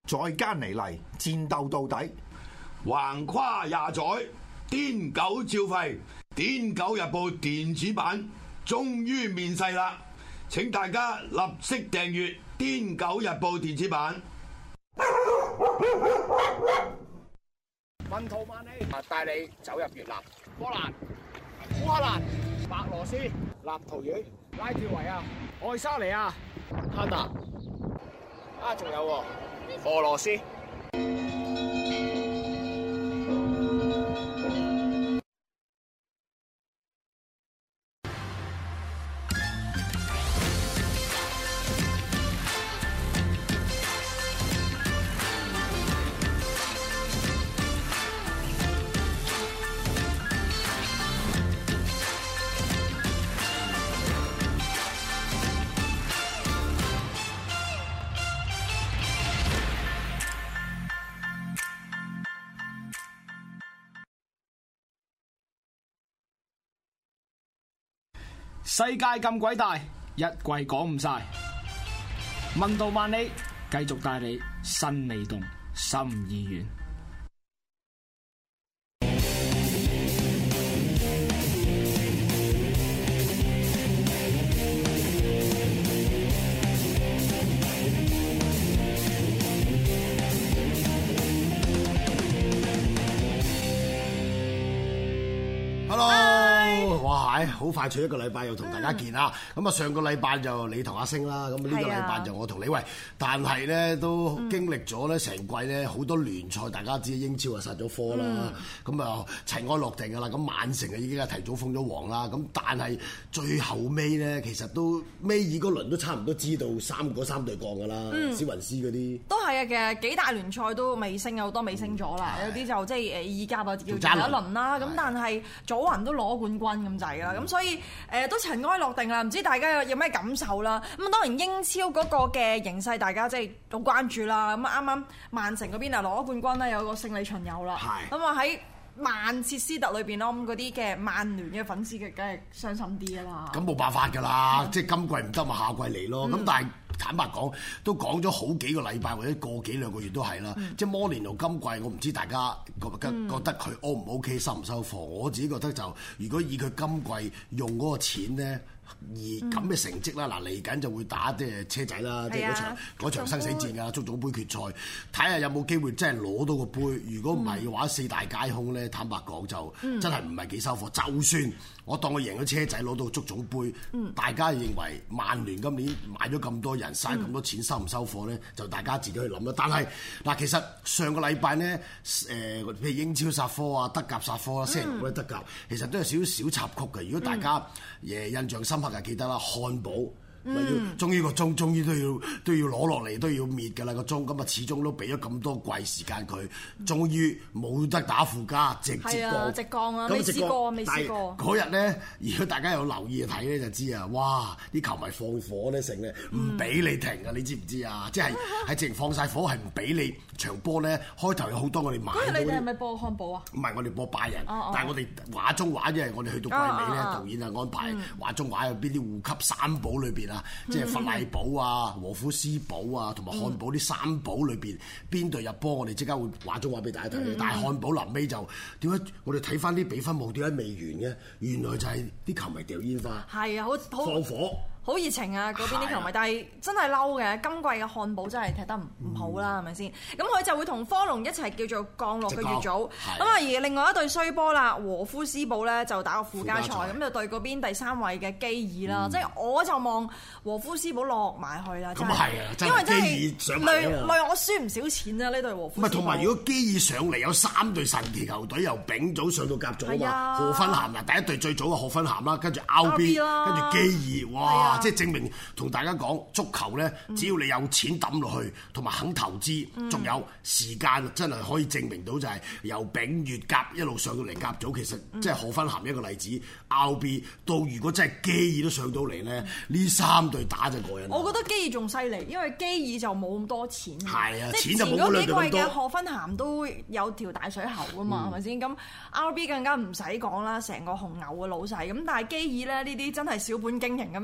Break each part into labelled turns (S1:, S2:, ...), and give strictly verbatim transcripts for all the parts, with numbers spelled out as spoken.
S1: 再艱泥嚟，戰鬥到底。
S2: 橫跨廿載，癲狗照吠。癲狗日報電子版終於面世啦！請大家立即訂閱癲狗日報電子版。
S3: 文圖萬里，帶你走入越南、波蘭、烏克蘭、白羅斯、立陶宛、拉脫維亞、愛沙尼亞、哈納啊，仲有俄羅斯。
S4: 世界咁鬼大，一季講唔晒。問道萬里，繼續帶你身未動，心已遠。
S5: 好快脆一個禮拜又同大家見啦，咁啊、嗯、上個禮拜就你同阿星啦，咁呢個禮拜就我同你喂，但係咧都經歷咗咧成季咧好多聯賽，大家知英超啊殺咗科啦，咁啊塵埃落定噶啦，咁曼城啊已經係提早封咗王啦，咁但係最後尾咧其實都尾二嗰輪都差唔多知道三嗰三隊降噶啦，史雲斯嗰啲都
S6: 係啊，其實幾大聯賽都未升，有好多未升咗啦，有啲就即係誒意甲啊叫第一輪啦，咁但係祖雲都攞冠軍咁滯啦，咁所以誒、呃、都塵埃落定啦，唔知大家有有咩感受啦？咁當然英超嗰個嘅形勢，大家即係好關注啦。咁啱啱曼城嗰邊啊攞咗冠軍啦，有個勝利巡遊啦。咁啊喺曼徹斯特裏邊咯，咁嗰啲嘅曼聯嘅粉絲嘅梗係傷心啲啦。咁冇辦法㗎啦，嗯、即係今季唔得咪下季嚟咯。咁、嗯、但係坦白講，都講咗好幾個禮拜或者個幾兩個月都係啦。嗯、即係摩連奴今季，我唔知大家覺覺覺得佢 O 唔 O K 收唔收貨？我自己覺得就如果以佢今季用嗰個錢咧。而咁嘅成績啦，嗱嚟緊就會打即係車仔啦，即係嗰場嗰場生死戰啊，足總杯決賽，睇下有冇機會真係攞到個杯。如果唔係嘅話，嗯、四大皆空咧，坦白講就真係唔係幾收貨。嗯、就算我當佢贏咗車仔攞到足總杯，嗯、大家認為曼聯今年買咗咁多人，嘥咁多錢，收唔收貨咧？就大家自己去諗啦。但係嗱，其實上個禮拜呢，誒、呃、譬如英超殺科啊，德甲殺科啦，星期五咧德甲，其實都有少少小插曲嘅。如果大家誒印象深刻嘅，記得啦，漢堡。咪要，終於個鐘，終於都要都要攞落嚟，都要滅㗎啦個鐘。咁啊，始終都俾咗咁多季時間佢，終於冇得打附加，直接降。直降啊！未試過，未試過。嗰日咧，如果大家有留意睇咧，就知啊！哇！啲球迷放火咧，成咧唔俾你停啊！你知唔知啊？即係係直情放晒火，係唔俾你場波咧。開頭有好多我哋買。嗰日你哋係咪播漢堡啊？唔係，我哋播拜仁。但係我哋畫中畫，因為我哋去到季尾咧，導演啊安排畫中畫有邊啲護級三寶裏邊啊。即係弗賴堡啊、和夫斯堡啊，同埋漢堡啲三寶裏邊邊隊入波，我哋即刻會話咗話俾大家睇。嗯、但係漢堡臨尾就點解？我哋睇翻啲比分冇點解未完嘅？原來就係啲球迷掉煙花，係啊，好好放火。好熱情啊！嗰邊啲球迷，但係真係嬲嘅。今季嘅漢堡真係踢得唔唔好啦，係咪先？咁佢就會同科隆一齊叫做降落嘅乙組。咁啊，而另外一隊衰波啦，和夫斯堡咧就打個附加賽，咁就對嗰邊第三位嘅基爾啦。即係我就望和夫斯堡落埋去啦。咁啊係啊，因為真係累累我輸唔少錢啊！呢隊和夫斯堡。唔係同埋如果基爾上嚟有三隊神奇球隊，由丙組上到甲組啊嘛。賀芬咸嗱，第一隊最早嘅賀芬咸啦，跟住 R B， 跟住基爾，哇！即係證明同大家講，足球咧，只要你有錢抌落去，同埋肯投資，仲、嗯、有時間，真係可以證明到就係由丙乙甲一路上到嚟甲組，其實即係賀芬咸一個例子。R B 到如果真係基爾都上到嚟咧，呢、嗯、三隊打就過癮。我覺得基爾仲犀利，因為基爾就冇咁多錢。係啊，錢就冇嗰兩隊咁多。前嗰幾季嘅賀芬咸都有條大水喉噶嘛，係咪先？咁 R B 更加唔使講啦，成個紅牛嘅老細。咁但係基爾咧呢啲真係小本經營咁樣叫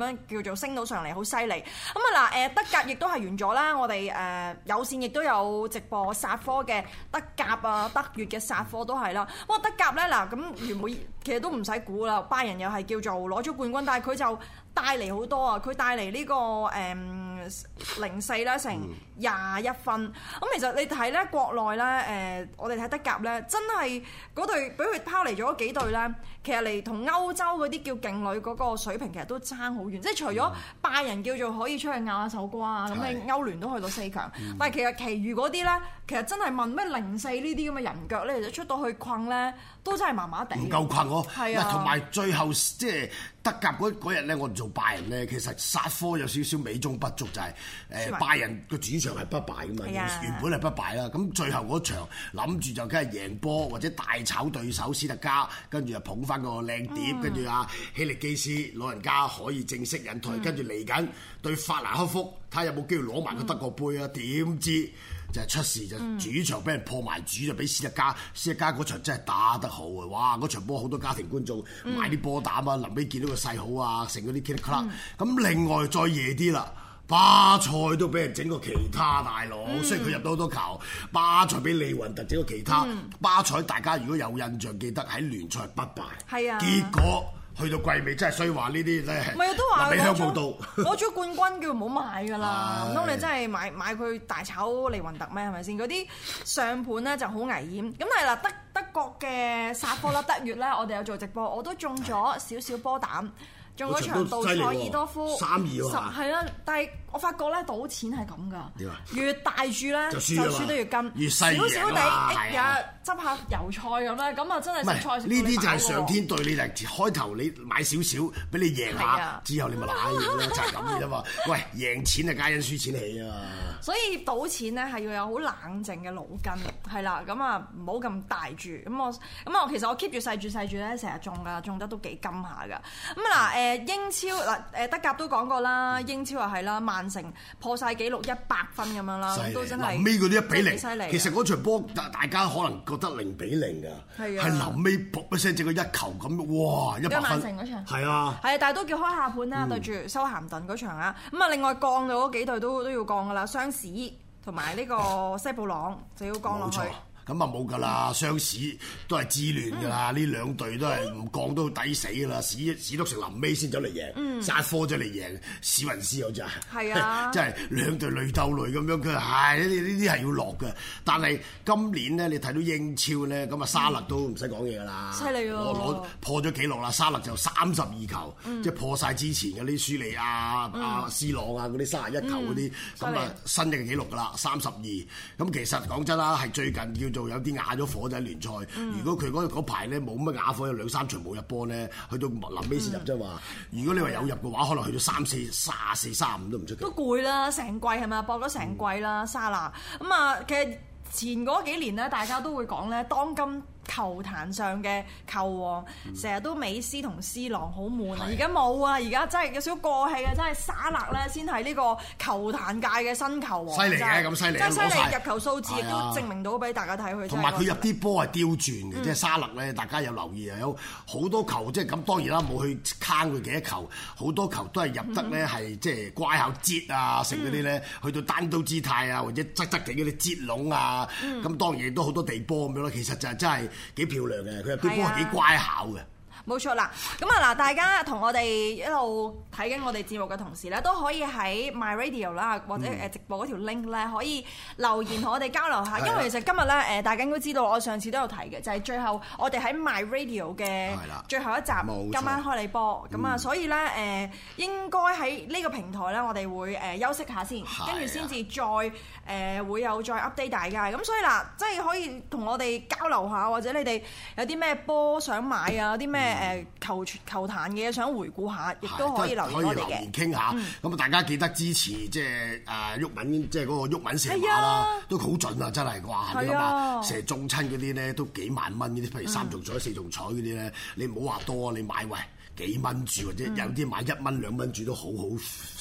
S6: 做升到上嚟，好犀利。咁啊嗱誒德甲亦都係完咗啦，我哋誒、呃、有線亦都有直播殺科嘅德甲啊，德乙嘅殺科都係啦。哇德甲咧嗱咁原本其實都唔使估啦，拜仁又係叫做攞咗冠軍，但係佢就帶嚟好多啊！佢帶嚟呢個誒零四啦，成廿一分。咁其實你睇咧國內咧誒、呃，我哋睇德甲咧，真係嗰隊俾佢拋離咗幾隊咧，其實嚟同歐洲嗰啲叫勁旅嗰個水平其實都差好遠。即係除咗拜仁叫做可以出去咬下手瓜啊，咁你歐聯都去到四強，嗯、但係其實其餘嗰啲咧，其實真係問咩零四呢啲咁嘅人腳咧，其實出到去困咧，都真係麻麻地。唔
S5: 夠困喎，
S6: 係啊，
S5: 同埋最後即係德甲嗰日咧，我哋做拜仁咧，其實殺科有少少美中不足，就係、是、誒拜仁個主場係不敗噶嘛，啊、原本係不敗啦。咁最後嗰場諗住就梗係贏波或者大炒對手斯特加，跟住又捧翻個靚碟，跟住啊希力基斯老人家可以正式引退，跟住嚟緊對法蘭克福，睇下有冇機會攞埋個德國杯啊？點、嗯、知？就係出事就主場俾人破埋主，就俾斯特加，斯特加嗰場真係打得好啊！哇！嗰場波好多家庭觀眾買啲波膽啊，臨尾見到個勢好啊，成嗰啲 kit club。咁另外再夜啲啦，巴塞都俾人整個其他大佬，嗯、雖然佢入到好多球，巴塞俾利雲特整個其他。嗯、巴塞大家如果有印象記得喺聯賽不敗，係啊，結果。去到季尾真係衰話呢啲咧，唔係都話俾香報道
S6: 攞咗冠軍叫唔好買㗎啦，唔通你真係買買佢大炒利雲特咩？係咪先？嗰啲上盤咧就好危險。咁係啦，德德國嘅殺科啦，德乙咧，我哋有做直播，我都中咗少少波膽。中嗰場杜塞爾多夫
S5: 三二喎，
S6: 係啦，但係我發覺咧賭錢係咁噶，越大注咧就輸得越金，
S5: 越細
S6: 少少地日執下油菜咁咧，咁啊真係食菜食到你飽喎。
S5: 呢啲就係上天對你，就開頭你買少少俾你贏下，之後你咪賴嘢咯，就係咁嘅啫嘛。喂，贏錢係皆因輸錢起啊嘛。
S6: 所以賭錢咧係要有好冷靜嘅腦筋，係啦，咁啊唔好咁大注。咁我咁我其實我 keep 住細注細注咧，成日中㗎，中得都幾金下㗎。咁嗱誒。誒英超嗱誒德甲都講過啦，英超又係啦，曼城破晒紀錄一百分咁樣啦，都真係
S5: 臨尾嗰啲一比零，其實嗰場波大家可能覺得零比零㗎，係臨尾噗一聲整個一球咁，哇一百分！
S6: 曼城嗰場
S5: 係啊，
S6: 係啊，但係都叫開下盤啦，對住修咸頓嗰場啊，咁啊另外降到嗰幾隊都都要降㗎啦，雙士同埋呢個西布朗就要降落去。
S5: 咁啊冇㗎啦，雙史都係自亂㗎啦，呢、嗯、兩隊都係唔降都抵死㗎啦，史史篤城臨尾先走嚟贏，殺科咗嚟贏史雲斯，好似係，係啊，即係兩隊累鬥累咁樣，佢係呢啲呢啲係要落嘅。但係今年咧，你睇到英超咧，咁啊沙勒都唔使講嘢㗎啦，
S6: 犀利喎，
S5: 攞攞破咗紀錄啦，沙勒就三十二球，嗯、即係破晒之前嗰啲舒利亞、嗯、啊、斯朗啊嗰啲三十一球嗰啲，咁啊、嗯、新嘅紀錄㗎啦，三十二。咁其實講真啦，係最近叫做有啲啞咗火就喺聯賽。嗯、如果佢嗰排咧冇乜啞火，有兩三場冇入波咧，去到臨尾先入啫嘛。嗯、如果你話有入嘅話，可能去到三四、卅四、卅五都唔出奇。都
S6: 攰啦，成季係咪？搏咗成季啦，沙拿咁啊。其實前嗰幾年咧，大家都會講咧，當今球壇上嘅球王，成日、嗯、都美斯同 C 朗好悶啊！而家冇啊，而家真係有少少過氣啊！真係沙勒咧先係呢個球壇界嘅新球王，
S5: 犀利嘅咁犀利，
S6: 真係犀利！入球數字亦都證明到俾大家睇佢。
S5: 同埋佢入啲波係刁鑽嘅，嗯、即係沙勒咧，大家有留意啊？有好多球即係咁，當然啦，冇去坑佢幾多球，好多球都係入得咧，係、嗯、即係乖巧擠啊，成嗰啲咧，去到單刀姿態啊，或者側側地嗰啲擠籠啊，咁、嗯、當然亦都好多地波咁樣咯。其實就係真係。幾漂亮嘅，佢入啲波係幾乖巧嘅。
S6: 冇錯啦，咁啊嗱，大家同我哋一路睇緊我哋節目嘅同時咧，都可以喺 My Radio 啦，或者誒直播嗰條 link 咧，可以留言同我哋交流下。嗯、因為其實今日咧誒，大家應該知道，我上次都有提嘅，就係、是、最後我哋喺 My Radio 嘅最後一集，今晚開你波。咁啊，所以咧誒，應該喺呢個平台咧，我哋會誒休息下先，跟住先至再誒、呃、會有再 update 大家。咁所以嗱，即係可以同我哋交流下，或者你哋有啲咩波想買啊，啲咩？誒球球壇嘅嘢想回顧下，亦都可以留言我哋嘅。可以留言傾下，咁啊、嗯、大家記得支持即係誒毓民，即係嗰個毓民射馬啦，啊、都好準啊！真係哇，你諗下射中親嗰啲咧都幾萬蚊嗰啲，譬如三重彩、嗯、四重彩嗰啲咧，你唔好話多，你買喂幾蚊注或者有啲買一蚊兩蚊注都好好。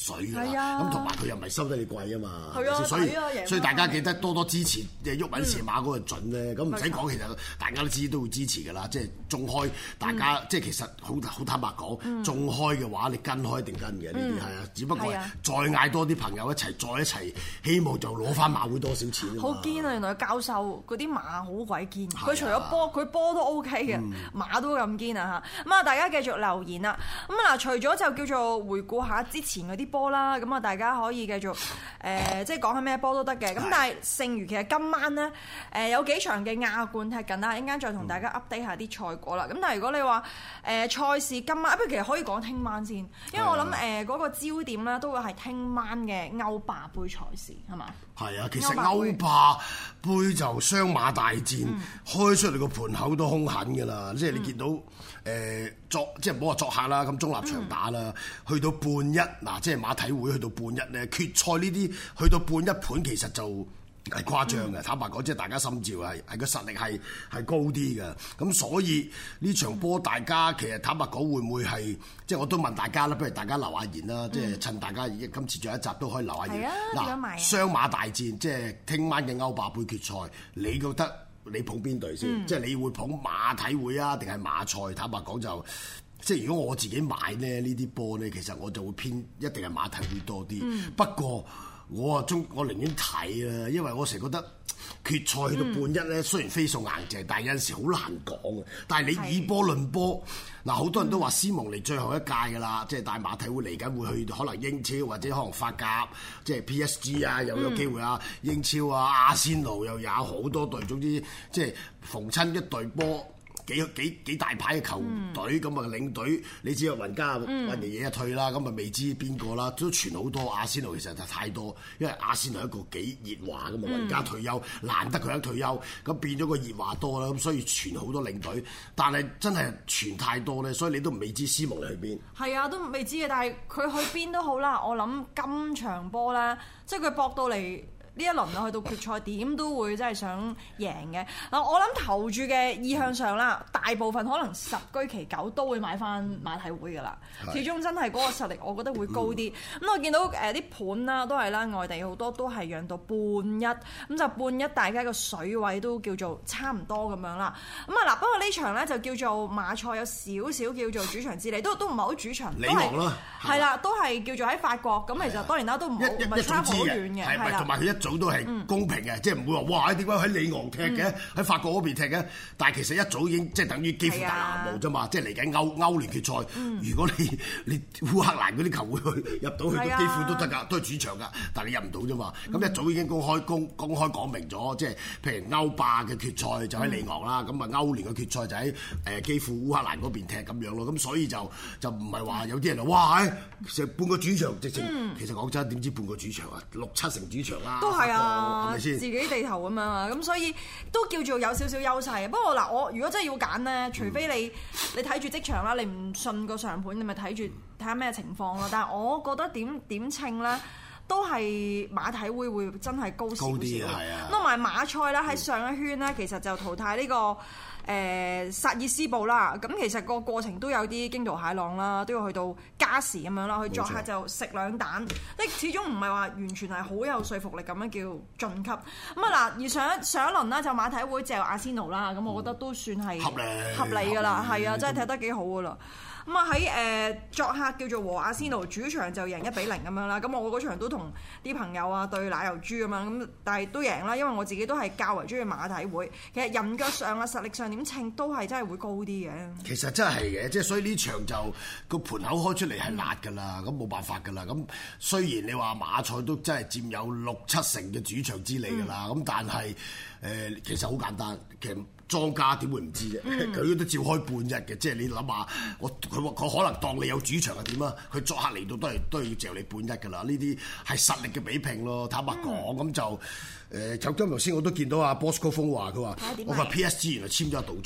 S5: 水㗎啦。咁同埋佢又唔係收得你貴啊嘛，
S6: 係啊，
S5: 所以
S6: 啊
S5: 所以大家記得多多支持嘅鬱文射馬嗰個準咧。咁唔使講，其實大家都知都會支持㗎啦。即係中開，大家、嗯、即係其實好好坦白講，嗯、中開嘅話你跟開一定跟嘅呢啲係啊。只不過再嗌多啲朋友一齊，再一齊，希望就攞翻馬會多少錢。
S6: 好堅啊！原來教授嗰啲馬好鬼堅，佢、啊、除咗波，佢波都 O K 嘅，嗯、馬都咁堅啊嚇。咁啊，大家繼續留言啦。咁啊嗱，除咗就叫做回顧下之前嗰啲波啦，咁啊大家可以繼續誒、呃，即係講下咩波都得嘅。咁但係剩餘其實今晚咧誒、呃、有幾場嘅亞冠踢緊啦，一陣間再同大家 update 下啲賽果啦。咁、嗯、但係如果你話誒賽事今晚，不如其實可以講聽晚先，因為我諗誒嗰個焦點咧都會係聽晚嘅歐霸杯賽事係嘛？係
S5: 啊，其實歐霸杯就雙馬大戰、嗯、開出嚟個盤口都兇狠㗎啦，即係你見到誒、呃、作即係唔好話作客啦，咁中立場打啦，嗯、去到半一嗱，即係馬體會去到半一咧，決賽呢啲去到半一盤其實就係誇張嘅。嗯、坦白講，即係大家心照係係個實力係係高啲嘅，咁所以呢場波大家其實坦白講會唔會係即係我都問大家啦，不如大家留下言啦，嗯、即係趁大家今次最後一集都可以留下言。嗱，雙馬大戰即係聽晚嘅歐霸杯決賽，你覺得你捧邊隊先？嗯、即係你會捧馬體會啊，定係馬賽？坦白講就即係如果我自己買咧呢啲波咧，其實我就會偏一定係馬體會多啲。嗯、不過我啊中我寧願睇啊，因為我成日覺得決賽去到半一咧，嗯、雖然飛數硬淨，但係有陣時好難講啊。但係你以波論波，嗱好多人都話斯蒙尼最後一屆㗎啦，即係大馬體會嚟緊會去可能英超或者可能法甲，即係 P S G 啊又有機會啊，嗯、英超啊阿仙奴又有好多隊，總之即係逢親一隊波。幾幾幾大牌嘅球隊咁啊，嗯、領隊你知啊，雲加雲爺爺一退啦，咁啊、嗯、未知邊個啦，都傳好多阿仙奴，其實就太多，因為阿仙奴係一個幾熱話噶嘛，雲加退休難得佢一退休，咁變咗個熱話多啦，咁所以傳好多領隊，但係真係傳太多咧，所以你都未知斯蒙尼去邊。係
S6: 啊，都未知嘅，但係佢去邊都好啦，我諗今場波咧，即係佢搏到嚟。呢一輪啊，去到決賽點都會真係想贏嘅嗱，我諗投注嘅意向上啦，大部分可能十居其九都會買翻馬體會噶啦，始終真係嗰個實力，我覺得會高啲。咁、嗯、我見到誒啲盤啦，都係啦，外地好多都係讓到半一，咁就半一，大家個水位都叫做差唔多咁樣啦。咁啊嗱，不過呢場咧就叫做馬賽有少少叫做主場之利，都都唔係好主場，
S5: 里昂啦，係
S6: 啦，都係叫做喺法國。咁其實當然啦，都唔唔係差好遠嘅，係啦，同埋佢一早都係公平嘅，嗯、即係唔會話哇點解喺里昂踢嘅，喺、嗯、法國嗰邊踢嘅？但係其實一早已經即係等於幾乎大南無啫嘛，啊、即係嚟緊歐歐聯決賽。嗯、如果你你烏克蘭嗰啲球會去入到去都幾乎都得㗎，都係主場㗎，但係你入唔到啫嘛。咁、嗯、一早已經公開公公開講明咗，即係譬如歐霸嘅決賽就喺里昂啦，咁啊、嗯、歐聯嘅決賽就喺誒幾乎烏克蘭嗰邊踢咁樣咯。咁所以就就唔係話有啲人話哇成半個主場直情，嗯、其實講真點知半個主場啊，六七成主場啦，都係啊。係咪先？自己地頭咁樣啊，咁所以都叫做有少少優勢。不過嗱，我如果真係要揀咧，除非你你睇住即場啦，你唔信個上盤，你咪睇住睇下咩情況咯。但係我覺得點點稱咧，都係馬體會會真係高少少。高啲係啊。咁同埋馬賽咧喺上一圈咧，其實就淘汰呢個誒薩爾斯堡啦。咁其實個過程都有啲驚濤駭浪啦，都要去到加時咁樣啦。去作客就食兩蛋，即係始終唔係話完全係好有說服力咁樣叫晉級。咁啊嗱，而上一上一輪咧就馬體會就阿仙奴啦，咁我覺得都算係合理合理㗎啦，係啊，真係踢得幾好㗎啦。咁啊喺誒作客叫做和阿仙奴，主場就贏一比零咁樣啦。咁我嗰場都同啲朋友啊對奶油豬咁樣，咁但係都贏啦，因為我自己都係較為中意馬體會。其實人腳上啊實力上點稱都係真係會高啲嘅。其實真係嘅，即係所以呢場就個盤口開出嚟係辣㗎啦，咁冇、嗯、辦法㗎啦。咁雖然你話馬賽都真係佔有六七成嘅主場之利㗎啦，咁、嗯、但係誒、呃、其實好簡單，其實。莊家點會唔知啫？佢、嗯、都照開半日嘅，即係你諗下，我佢佢可能當你有主場係點啊？佢作客嚟到都係都係要嚼你半日㗎啦。呢啲係實力嘅比拼咯。坦白講，咁、嗯、就誒，就今頭先我都見到阿 Bosco 風話佢話，我話 P S G 原來簽咗阿杜曹。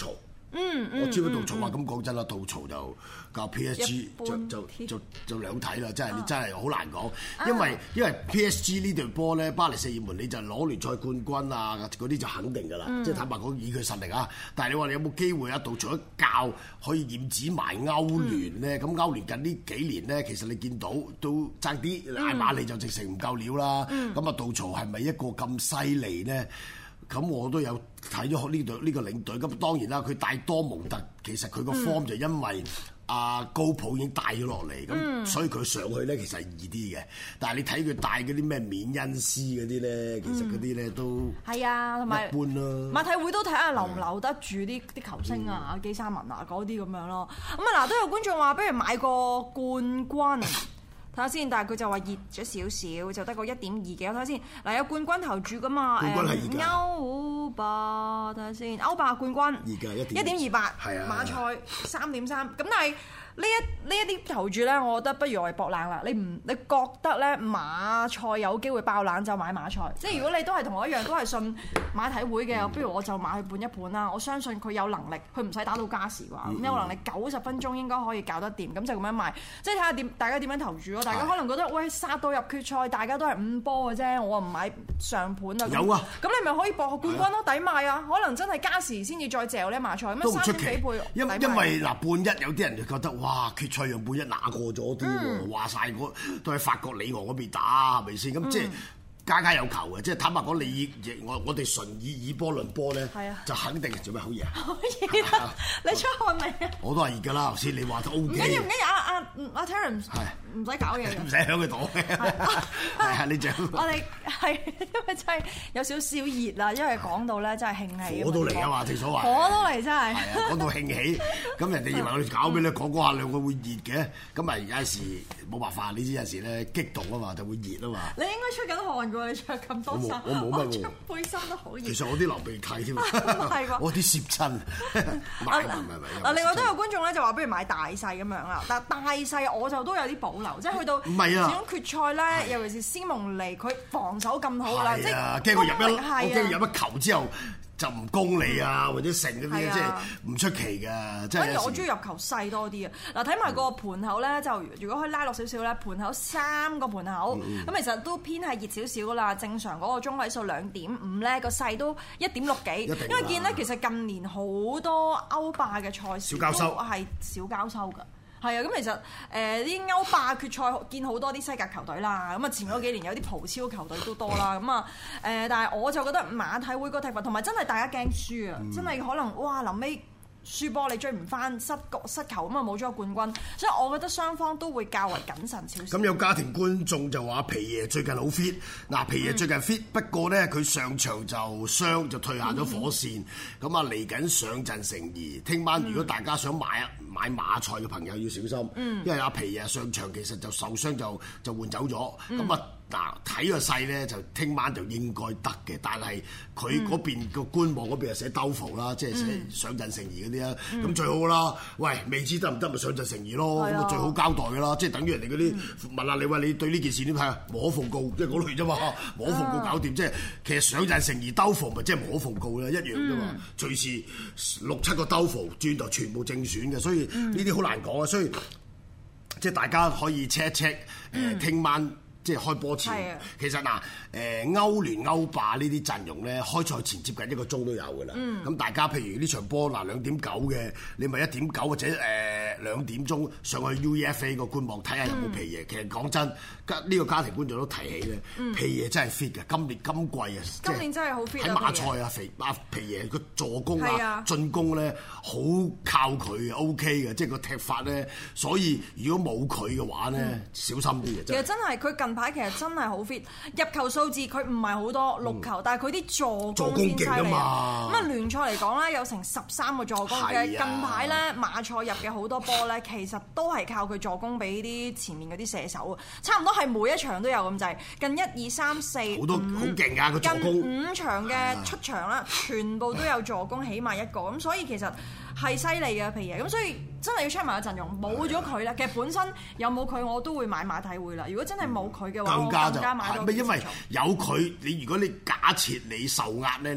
S6: 嗯嗯，
S5: 我知道杜曹話咁講真啦，杜曹就教 P S G 就就就就兩睇啦，真係你真係好難講，因為因為 P S G 呢隊波咧，巴黎聖日門你就攞聯賽冠軍啊嗰啲就肯定㗎啦，即係坦白講以佢實力啊。但係你話你有冇機會啊？杜曹一教可以染指埋歐聯咧，咁歐聯近呢幾年咧，其實你見到都爭啲，艾馬利就直情唔夠料啦。咁啊，杜曹係咪一個咁犀利咧？咁我都有睇咗呢隊呢個領隊，咁當然啦，佢帶多蒙特，其實佢個 form 就因為阿高普已經帶咗落嚟，咁、嗯、所以佢上去咧其實係易啲嘅。但係你睇佢帶嗰啲咩緬恩斯嗰啲咧，其實嗰啲咧都係啊，同埋一般咯。馬體會都睇下留唔留得住啲啲球星啊、嗯、基沙文啊嗰啲咁樣咯。咁啊嗱，都有觀眾話，不如買個冠軍。睇下先，但係佢就話熱咗少少，就得個一點二幾。我睇下先，嗱有冠軍投注噶嘛？冠軍係而家歐霸，睇下先，歐霸冠軍而家一點一點二八，係啊，馬賽三點三。咁但係呢一呢一啲投注咧，我覺得不如我哋搏冷啦。你唔你覺得咧馬賽有機會爆冷就買馬賽。即係如果你都係同我一樣，都係信馬體會嘅，不如我就買去半一半啦。我相信佢有能力，佢唔使打到加時啩，咁、嗯、有能力九十分鐘應該可以搞得掂。咁就咁樣買，即係睇下點大家點樣投注咯。大家可能覺得喂殺到入決賽，大家都係五波嘅啫，我唔買上盤啊。有啊，咁你咪可以搏個冠軍咯，抵買啊！可能真係加時先至再嚼呢馬賽，咁樣三點幾倍。因因為嗱半一有啲人就覺得哇決賽讓半一拿過咗啲喎，話曬嗰都喺法國里昂嗰邊打係咪先？咁即係家家有球嘅，即係坦白講，你我我哋純以以波論波咧，就肯定做咩好嘢？好熱啊！你出汗未啊？我都係熱㗎啦，頭先你話都 O K。唔緊要唔緊要，阿阿阿 Terence 唔使搞嘢，唔使響佢度嘅。係啊，你就我哋係因為真係有少少熱啦，因為講到咧真係興起。火都嚟啊嘛，正所謂。火都嚟真係。係啊，講到興起，咁人哋以為我哋搞咩咧？講講下兩個會熱嘅，咁咪有陣時冇辦法，你知有陣時咧激動啊嘛，就會熱啊嘛。你應該出緊汗㗎，你着咁多衫。我冇乜喎。背心都好熱。其實我啲流鼻涕添。係喎。我啲攝親。唔係唔係唔係。嗱，另外都有觀眾咧就話，不如買大細咁樣啦。但大細我就都有啲保留。即係去到始終決賽咧，尤其是斯蒙尼佢防守咁好啦，即係驚佢入一，我驚佢入一球之後就唔攻你啊，或者成嗰啲即係唔出奇㗎。即係我中意入球細多啲啊！嗱，睇埋個盤口咧，就如果可以拉落少少咧，盤口三個盤口咁，其實都偏係熱少少㗎啦。正常嗰個中位數兩點五咧，個細都一點六幾。因為見咧，其實近年好多歐霸嘅賽事都係小交收㗎。係啊，咁其實誒啲、呃、歐霸決賽見好多啲西甲球隊啦，咁啊前嗰幾年有啲葡超球隊都多啦，咁啊誒，但係我就覺得馬體會個踢法同埋真係大家驚輸啊，嗯、真係可能哇臨尾輸波你追唔翻，失局失球咁啊冇咗冠軍，所以我覺得雙方都會較為謹慎少少。咁有家庭觀眾就話皮爺最近好 fit，嗱皮爺最近 fit，、嗯、不過咧佢上場就傷就退下咗火線，咁啊嚟緊上陣成疑。聽晚如果大家想買買馬賽嘅朋友要小心，嗯、因為阿皮爺上場其實就受傷就就換走咗，咁啊、嗯。嗱，睇個勢咧，就聽晚就應該得嘅，但係佢嗰邊個官網嗰邊係寫兜伏啦，即係寫上陣成疑嗰啲啊，咁、嗯、最好啦。喂，未知得唔得咪上陣成疑咯，咁啊最好交代㗎啦，即係等於人哋嗰啲問下你話你對呢件事點睇啊？無可奉告，即係嗰類啫嘛，無可奉告搞掂，即係其實上陣成疑兜伏咪即係無可奉告啦，一樣啫嘛，隨時六七個兜伏轉頭全部正選嘅，所以呢啲好難講啊，所以即係大家可以 check 一 check 誒聽晚。即係開波前，的其實嗱，誒歐聯歐霸呢啲陣容咧，開賽前接近一個鐘都有㗎啦。咁、嗯、大家譬如呢場波嗱兩點九嘅，你咪一點九或者誒兩點鐘上去 U E F A 個官網睇下有冇皮爺。嗯、其實講真，呢、呢個家庭觀眾都提起咧，嗯、皮爺真係 fit 嘅。今年今季啊，今年真係好 fit 喺馬賽啊，肥阿皮爺個助攻啊、進攻咧，好靠佢 OK 嘅，即係個踢法咧。所以如果冇佢嘅話咧，嗯、小心啲嘅。其實真係佢近排其實真係好 fit，入球數字佢唔係好多六球，嗯、但係佢啲助攻先犀利啊！咁啊聯賽嚟講咧，有成十三個助攻嘅。啊、近排咧馬賽入嘅好多波咧，其實都係靠佢助攻俾啲前面嗰啲射手啊！差唔多係每一場都有咁滯，近一二三四好多好勁㗎個助攻，近五場嘅出場啦，啊、全部都有助攻，起碼一個咁，所以其實係犀利嘅皮爺。咁所以真係要 check 埋個陣容，冇咗佢啦。其實本身有冇佢我都會買馬體會啦。如果真係冇佢，更加就係咪因為有佢？你如果你假設你受壓咧，你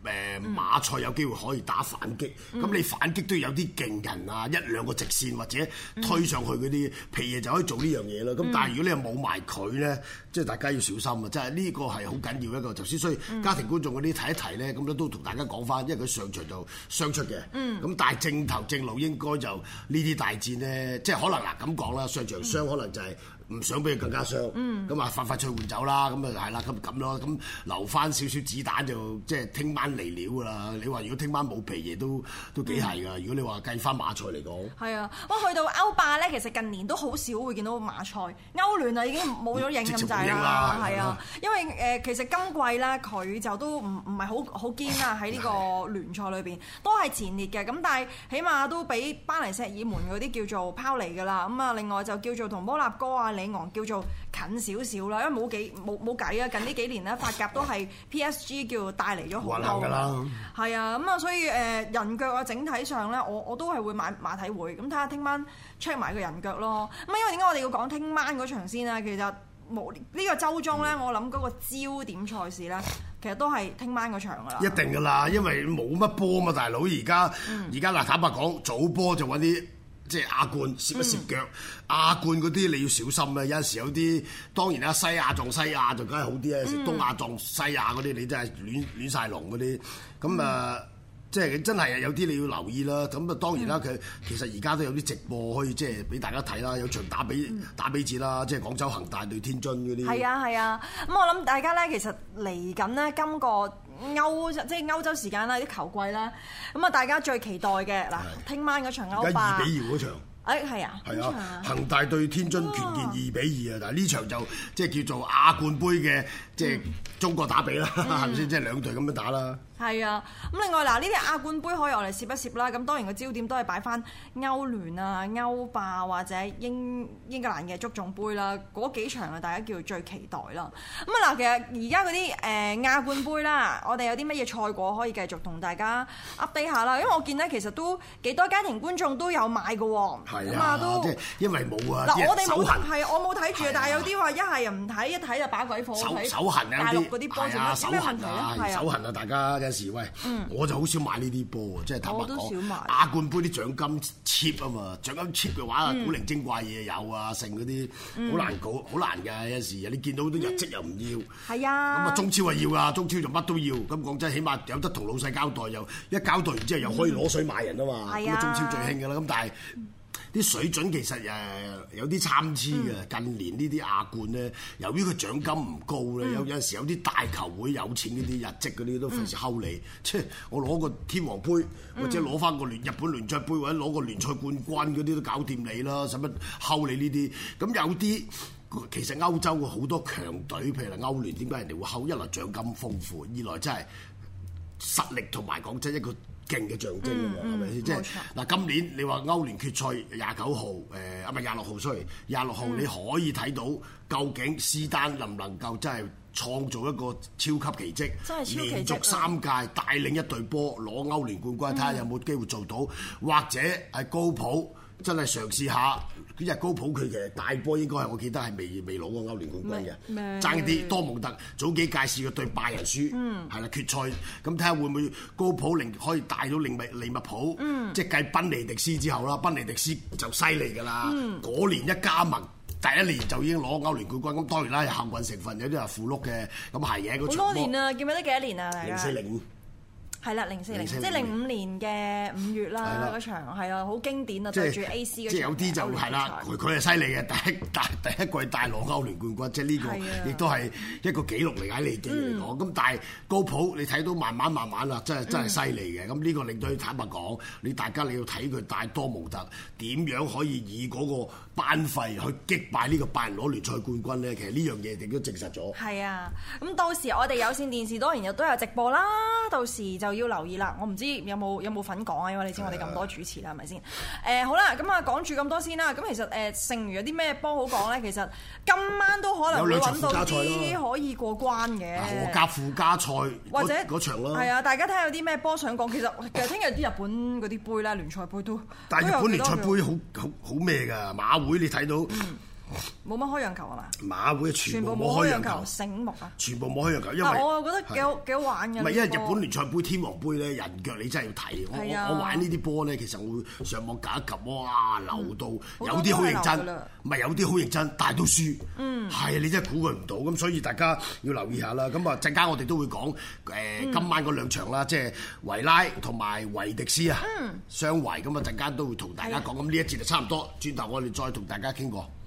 S5: 誒馬賽有機會可以打反擊，咁、嗯、你反擊都要有啲勁人啊，一兩個直線或者推上去嗰啲皮嘢就可以做呢樣嘢咯。咁、嗯、但係如果你又冇埋佢咧，即係大家要小心啊！即係呢個係好緊要一個頭先，所以家庭觀眾嗰啲睇一提咧，咁咧都同大家講翻，因為佢上場就傷出嘅，咁、嗯、但係正頭正路應該就呢啲大戰咧，即係可能嗱咁講啦，上場傷可能就係、是。唔想俾佢更加傷，咁、嗯、啊快快脆換走啦，咁啊係啦，咁咁咯，咁留翻少少子彈就即係聽晚嚟料噶啦。你話如果聽晚冇皮嘢都都幾係噶。如果你話計翻馬賽嚟講，係
S6: 啊，不過去到歐霸咧，其實近年都好少會見到馬賽，歐聯啊已經冇咗影咁滯啦，係啊，因為誒、呃、其實今季咧佢就都唔唔係好好堅啦，喺呢個聯賽裏邊都係前列嘅，咁但係起碼都比巴黎聖日耳門嗰啲叫做拋離噶啦，咁啊另外就叫做同摩納哥啊。里昂叫做近少少啦，因為冇幾冇冇計啊！近呢幾年咧，法甲都係 P S G 叫帶嚟咗好多㗎啦，係啊，咁啊，所以誒人腳啊，整體上咧，我我都係會買馬體會，咁睇下聽晚 check 埋個人腳咯。咁因為點解我哋要講聽晚嗰場先啊？其實冇呢個週中咧，我諗嗰個焦點賽事咧，其實都係聽晚嗰場㗎啦。一定㗎啦，因為冇乜波嘛，大佬而家而家嗱坦白講，早波就揾啲。即係亞冠攝一攝腳，嗯、亞冠嗰啲你要小心啦。有陣時有啲當然啦，西亞撞西亞就梗係好啲啊。嗯、東亞撞西亞嗰啲，你真係亂亂曬龍嗰啲。咁啊、嗯，即係真係有啲你要留意啦。咁啊，當然啦，佢、嗯、其實而家都有啲直播可以即係俾大家睇啦。有場打比、嗯、打比戰啦，即係廣州恒大對天津嗰啲。係啊係啊，咁、啊、我諗大家咧，其實嚟緊呢，今個歐即係歐洲時間啦，啲球季啦，咁啊大家最期待嘅嗱，聽晚嗰場歐霸，二比二嗰場，誒係啊，係啊，恒大對天津權健二比二啊，但係呢場就即係叫做亞冠杯嘅即係中國打比啦，係咪先？即係兩隊咁樣打啦。係啊，咁另外嗱，呢啲亞冠杯可以我嚟攝一攝啦。咁當然個焦點都係擺翻歐聯啊、歐霸或者英英格蘭嘅足總杯啦，嗰幾場啊，大家叫做最期待啦。咁啊嗱，其實而家嗰啲誒亞冠杯啦，我哋有啲乜嘢賽果可以繼續同大家 update 下啦。因為我見咧其實都幾多家庭觀眾都有買嘅喎，咁啊都即係因為冇啊，嗱我哋冇係我冇睇住，但係有啲話一係又唔睇，一睇就把鬼火睇手痕啊大陸嗰啲波，有咩問題咧？手痕啊，大家時喂，嗯、我就好少買呢啲波啊，即係坦白講，亞冠杯啲獎金 cheap 啊嘛，獎金 cheap 嘅話，嗯、古靈精怪嘢有啊，剩嗰啲好難搞，好難㗎。有時你見到啲日績又唔要，係啊、嗯，咁啊中超啊要啊，中超就乜都要。咁講真，起碼有得同老細交代，又一交代完之後又可以攞水買人啊嘛。咁啊、嗯、中超最興㗎啦。咁但係啲水準其實誒有啲參差嘅。嗯、近年呢啲亞冠咧，由於佢獎金唔高咧，嗯、有有陣時有啲大球會有錢嗰啲日職嗰啲都費事睺你。嗯、即係我攞個天王杯，嗯、或者攞翻個聯日本聯賽杯，或者攞個聯賽冠軍嗰啲都搞掂你啦，使乜睺你呢啲？咁有啲其實歐洲嘅好多強隊，譬如歐聯，點解人哋會睺？一來獎金豐富，二來真係實力同埋講真一個勁嘅象徵啊嘛，係咪先？即係嗱，今年你話歐聯決賽廿九號，誒啊唔係廿六號，sorry，廿六號你可以睇到究竟施丹能唔能夠真係創造一個超級奇蹟，真係超奇蹟，連續三屆帶領一隊波攞歐聯冠軍，睇下有冇機會做到，或者係高普真係嘗試下。呢隻高普佢其實大波應該係我記得係未未攞過歐聯冠軍嘅，爭啲多蒙特早幾屆試過對拜仁輸，係啦、嗯、決賽，咁睇下會唔會高普令可以帶到利物利物浦，嗯、即係繼賓尼迪斯之後啦，賓尼迪斯就犀利㗎啦，嗰、嗯、年一加盟第一年就已經攞歐聯冠軍，咁當然啦有幸運成分，有啲係符碌嘅，咁係嘅嗰場。好多年啊，記唔記得幾多年啊？零四零五。係啦，零四零，即係零五年嘅五月啦，嗰場係啊，好經典啊，對住 A C 嗰場。即係有啲就係啦，佢佢係犀利嘅，第一大第一季大攞歐聯冠軍，即係呢個亦都係一個紀錄嚟喺利記嚟講。咁但係高普你睇到慢慢慢慢啦，真係真係犀利嘅。咁呢個令到佢坦白講，你大家你要睇佢帶多蒙特點樣可以以嗰個班費去擊敗呢個拜仁攞聯賽冠軍咧。其實呢樣嘢亦都證實咗。係啊，咁到時我哋有線電視當然亦都有直播啦，到時就要留意啦，我唔知有冇有冇份講啊，因為你知我哋咁多主持啦，係咪先？誒好啦，咁啊講住咁多先啦。咁其實誒剩餘有啲咩波好講咧？其實今晚都可能會揾到啲可以過關嘅。荷甲附加賽或者嗰場咯。係啊，大家睇下有啲咩波想講。其實其實聽日啲日本嗰啲杯啦，聯賽杯都。但係日本聯賽杯好好好咩㗎？馬會你睇到。嗯冇乜開讓球係嘛？
S5: 馬會全部冇開讓球，
S6: 醒目啊！
S5: 全部冇開讓球，因為
S6: 但我又覺得幾好幾好玩嘅。
S5: 唔係因為日本聯賽杯、天皇杯咧，人腳你真係要睇。我我我玩呢啲波咧，其實我會上網夾一夾，哇流到有啲好認真，唔係有啲好認真，但係都輸。嗯，係你真係估佢唔到，咁所以大家要留意下啦。咁啊陣間我哋都會講誒今晚嗰兩場啦，即係維拉同埋維迪斯啊，雙維咁啊陣間都會同大家講。咁呢一節就差唔多，轉頭我哋再同大家傾過。